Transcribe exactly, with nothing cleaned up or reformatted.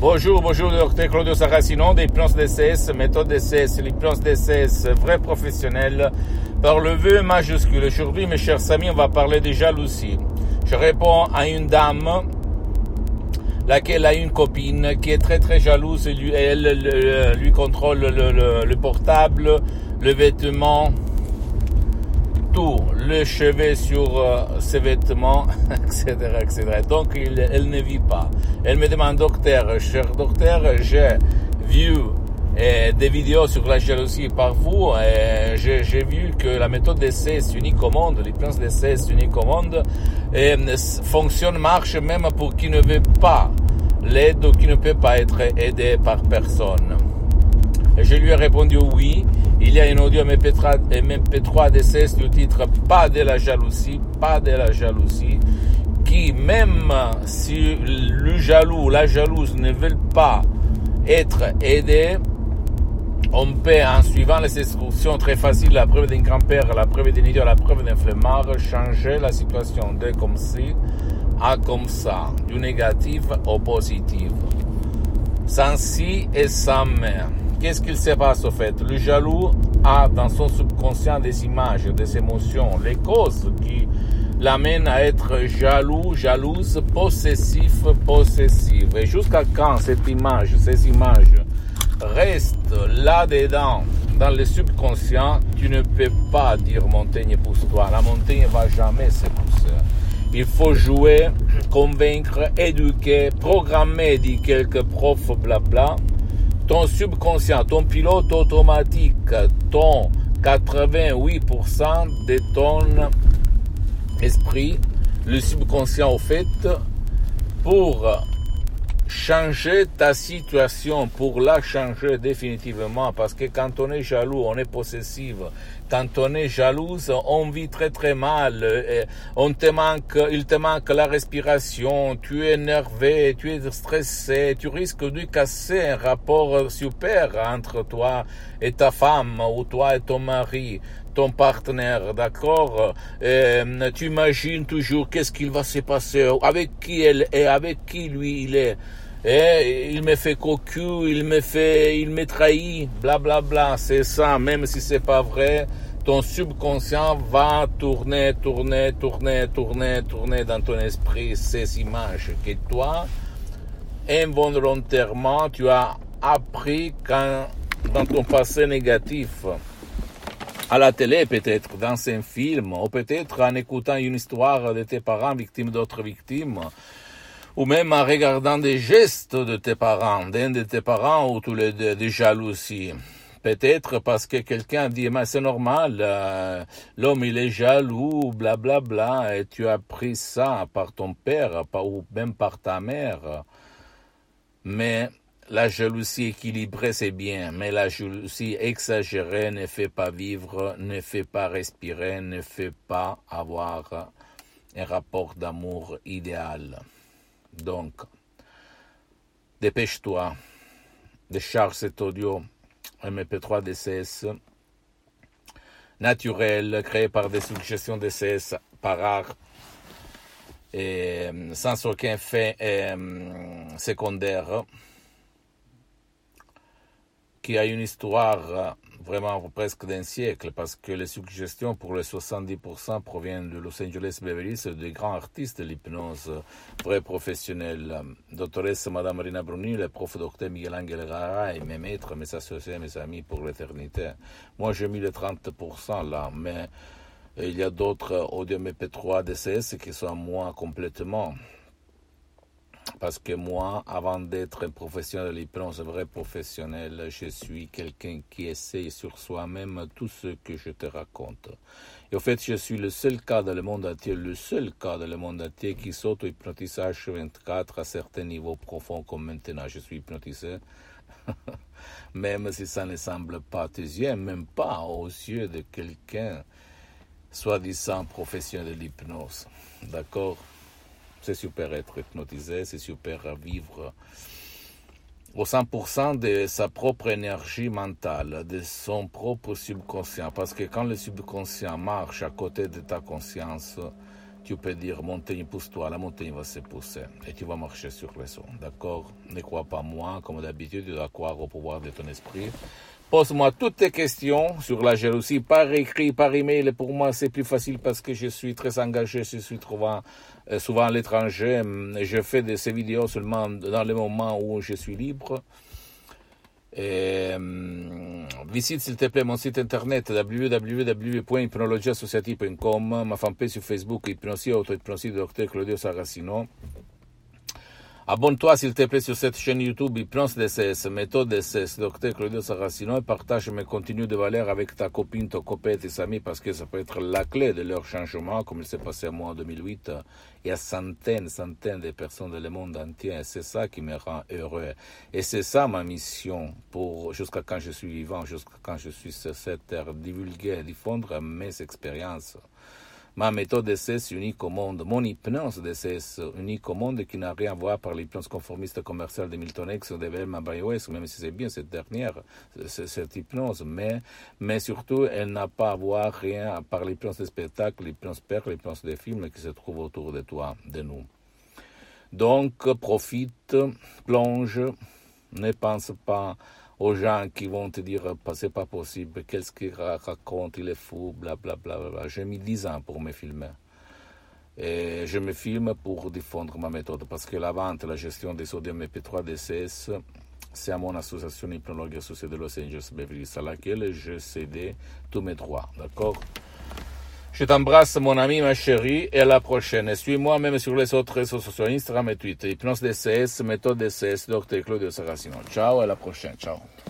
Bonjour, bonjour, docteur Claudio Saracino, d'hypnose D C S, méthode D C S, l'hypnose D C S, vrai professionnel, par le V majuscule. Aujourd'hui, mes chers amis, on va parler de jalousie. Je réponds à une dame, laquelle a une copine qui est très très jalouse, et lui, elle, elle lui contrôle le, le, le portable, le vêtement, tout, le chevet sur euh, ses vêtements, et cetera, et cetera. Donc, il, elle ne vit pas. Elle me demande, docteur, cher docteur, j'ai vu euh, des vidéos sur la jalousie par vous, et j'ai, j'ai vu que la méthode D C S unique au monde, l'hypnose D C S unique au monde, et, fonctionne, marche même pour qui ne veut pas l'aide ou qui ne peut pas être aidé par personne. Et je lui ai répondu oui. Il y a une audio M P trois D C S du titre Pas de la jalousie, pas de la jalousie, qui même si le jaloux ou la jalouse ne veulent pas être aidés, on peut, en suivant les instructions très faciles, la preuve d'un grand-père, la preuve d'un idiot, la preuve d'un flemmard, changer la situation de comme ci à comme ça, du négatif au positif, sans si et sans mais. Qu'est-ce qu'il se passe au fait? Le jaloux a dans son subconscient des images, des émotions, les causes qui l'amènent à être jaloux, jalouse, possessif, possessive. Et jusqu'à quand cette image, ces images restent là-dedans, dans le subconscient, tu ne peux pas dire montagne pousse-toi. La montagne ne va jamais se pousser. Il faut jouer, convaincre, éduquer, programmer, dit quelques profs, blabla. Ton subconscient, ton pilote automatique, ton quatre-vingt-huit pour cent de ton esprit, le subconscient au fait, pour changer ta situation, pour la changer définitivement, parce que quand on est jaloux, on est possessif, quand on est jalouse, on vit très très mal, on te manque, il te manque la respiration, tu es énervé, tu es stressé, tu risques de casser un rapport super entre toi et ta femme, ou toi et ton mari, ton partenaire, d'accord? Euh, tu imagines toujours qu'est-ce qu'il va se passer, avec qui elle est, avec qui lui il est. Et il me fait cocu, il me fait, il me trahit, bla bla bla. C'est ça, même si c'est pas vrai, ton subconscient va tourner, tourner, tourner, tourner, tourner dans ton esprit ces images que toi, involontairement, tu as appris quand, dans ton passé négatif. À la télé peut-être, dans un film, ou peut-être en écoutant une histoire de tes parents victimes d'autres victimes, ou même en regardant des gestes de tes parents, d'un de tes parents ou tous les deux, de jalousie. Peut-être parce que quelqu'un dit, mais c'est normal, euh, l'homme il est jaloux, blablabla, bla, bla, et tu as appris ça par ton père, par, ou même par ta mère. Mais la jalousie équilibrée, c'est bien, mais la jalousie exagérée ne fait pas vivre, ne fait pas respirer, ne fait pas avoir un rapport d'amour idéal. Donc, dépêche-toi, décharge cet audio M P trois D C S naturel, créé par des suggestions D C S par art, et sans aucun fait euh, secondaire, qui a une histoire vraiment presque d'un siècle, parce que les suggestions pour les soixante-dix pour cent proviennent de Los Angeles Beverly Hills, de grands artistes de l'hypnose, vrais professionnels. Doctoresse Madame Marina Bruni, le prof docteur Miguel Angel Gara, et mes maîtres, mes associés, mes amis pour l'éternité. Moi, j'ai mis les trente pour cent là, mais il y a d'autres audio M P trois D C S qui sont à moi complètement. Parce que moi, avant d'être un professionnel de l'hypnose, un vrai professionnel, je suis quelqu'un qui essaye sur soi-même tout ce que je te raconte. Et au fait, je suis le seul cas dans le monde entier, le seul cas dans le monde entier qui s'auto-hypnotise H vingt-quatre à certains niveaux profonds comme maintenant. Je suis hypnotisé, même si ça ne semble pas à tes yeux, même pas aux yeux de quelqu'un soi-disant professionnel de l'hypnose. D'accord? C'est super être hypnotisé, c'est super vivre au cent pour cent de sa propre énergie mentale, de son propre subconscient. Parce que quand le subconscient marche à côté de ta conscience, tu peux dire montagne pousse-toi, la montagne va se pousser et tu vas marcher sur les eaux, d'accord? Ne crois pas moi, comme d'habitude, tu dois croire au pouvoir de ton esprit. Pose-moi toutes tes questions sur la jalousie par écrit, par email. Pour moi, c'est plus facile parce que je suis très engagé, je suis souvent, euh, souvent à l'étranger. Je fais de ces vidéos seulement dans les moments où je suis libre. Et, euh, visite s'il te plaît mon site internet w w w point hypnologie associative point com, ma fanpage sur Facebook Hypnosie Auto-Hypnosie du docteur Claudio Saracino. Abonne-toi s'il te plaît sur cette chaîne YouTube Hypnose D C S, méthode D C S, docteur Claudio Saracino, et partage mes contenus de valeur avec ta copine, ton copain, tes amis, parce que ça peut être la clé de leur changement, comme il s'est passé à moi en deux mille huit. Il y a centaines, centaines de personnes dans le monde entier, et c'est ça qui me rend heureux. Et c'est ça ma mission pour, jusqu'à quand je suis vivant, jusqu'à quand je suis sur cette terre, divulguer, diffondre mes expériences. Ma méthode D C S unique au monde, mon hypnose D C S unique au monde qui n'a rien à voir par l'hypnose conformiste commerciale de Milton X ou de Velma Bayo-West, même si c'est bien cette dernière, cette hypnose, mais, mais surtout elle n'a pas à voir rien par l'hypnose des spectacles, l'hypnose père, l'hypnose des films qui se trouvent autour de toi, de nous. Donc profite, plonge, ne pense pas aux gens qui vont te dire c'est pas possible, qu'est-ce qu'il raconte, il est fou, blablabla. Bla, bla, bla. J'ai mis dix ans pour me filmer. Et je me filme pour diffondre ma méthode, parce que la vente, la gestion des sodium M P trois D C S, c'est à mon association Hypnologue associée de Los Angeles Beverly Hills, à laquelle je cédais tous mes droits. D'accord? Je t'embrasse, mon ami, ma chérie, et à la prochaine. Et suis-moi même sur les autres réseaux sociaux, Instagram et Twitter. Hypnose D C S, méthode D C S, docteur Claudio Saracino. Ciao, et à la prochaine. Ciao.